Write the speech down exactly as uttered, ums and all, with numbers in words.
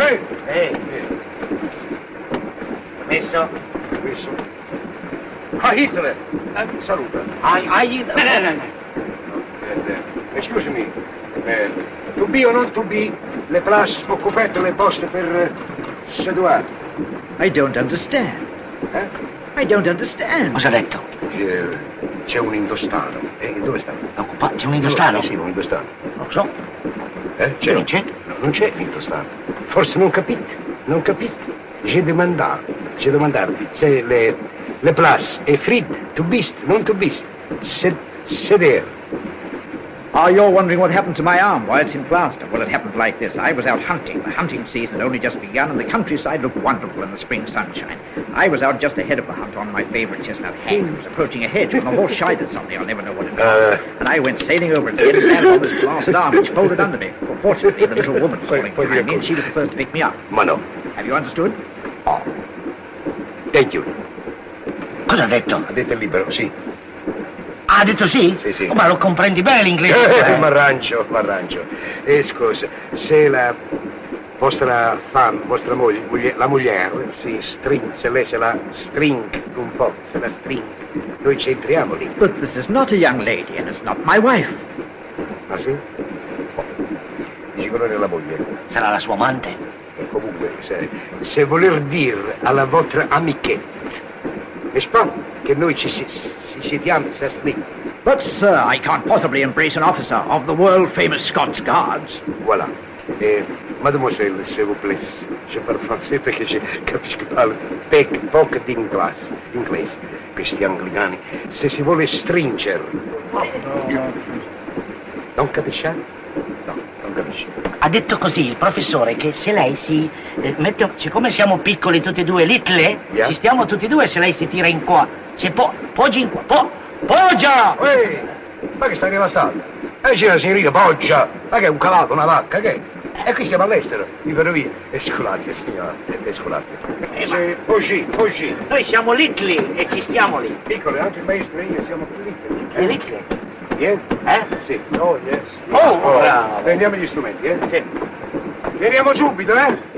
Eh? Eh. Messo? Messo. Ah, Hitler! Eh, saluta. Ai, ai, no, no, no, no. Uh, excuse me. Uh, to be or not to be, le place occupate le poste per uh, sedouar. I don't understand. Eh? I don't understand. Cosa ha detto? Eh, C'è un indostano. E dove sta? Occupa- C'è un indostano? Eh, sì, un indostano. Non lo so. Eh? C'è? Non c'è? No, non c'è l'indostano. Forse non capite. Non capite. J'ai demandé. J'ai demandé. C'est le, le place. E frid. To beast. Non to beast. Sed, seder. Oh, you're wondering what happened to my arm, why it's in plaster. Well, it happened like this. I was out hunting. The hunting season had only just begun, and the countryside looked wonderful in the spring sunshine. I was out just ahead of the hunt on my favorite chestnut hag. I was approaching a hedge when the horse shied at something. I'll never know what it was. Uh, and I went sailing over and hit his hand on this blasted arm, which folded under me. Well, fortunately, the little woman was falling behind me, and she was the first to pick me up. Ma no. Have you understood? Oh. Thank you. Cosa ha detto? Ha detto il libero, sì. Ah, ha detto sì? Sì, sì. Oh, ma lo comprendi bene l'inglese? Eh, m'arrangio, m'arrangio. E scusa, se la vostra femme, vostra moglie, moglie- la moglie si string, se lei se la string un po', se la string, noi ci entriamo lì. But this is not a young lady, and it's not my wife. Ah sì? Oh. Dici che non è la moglie. Sarà la sua amante? E comunque, se, se voler dire alla vostra amichetta, n'est-ce pas, che noi ci si, si sediamo, si string. But, sir, I can't possibly embrace an officer of the world-famous Scots Guards. Voilà. Eh, mademoiselle, s'il vous plaît, je parle français perché je capisco parlo pec, poco di inglese, inglese, questi anglicani. Se si vuole stringere. Non capisce? No, non capisce. Ha detto così il professore che se lei si eh, mette, siccome siamo piccoli tutti e due, little, Yeah. ci stiamo tutti e due, se lei si tira in qua, se po, poggi in qua, po, poggia! Ehi, ma che stai rilassando? E c'è la signorina Poggia, ma che è un cavallo, una vacca, che è? E qui siamo all'estero, in ferrovia. E scolate, signora, e scolate. Se, Poggi, Poggi. Noi siamo little e ci stiamo lì. Piccole, anche il maestro e io siamo più piccoli. E little? Bien? Eh? Sì. Oh, yes. Oh, bravo. Prendiamo gli strumenti, eh? Sì. Veniamo subito, eh?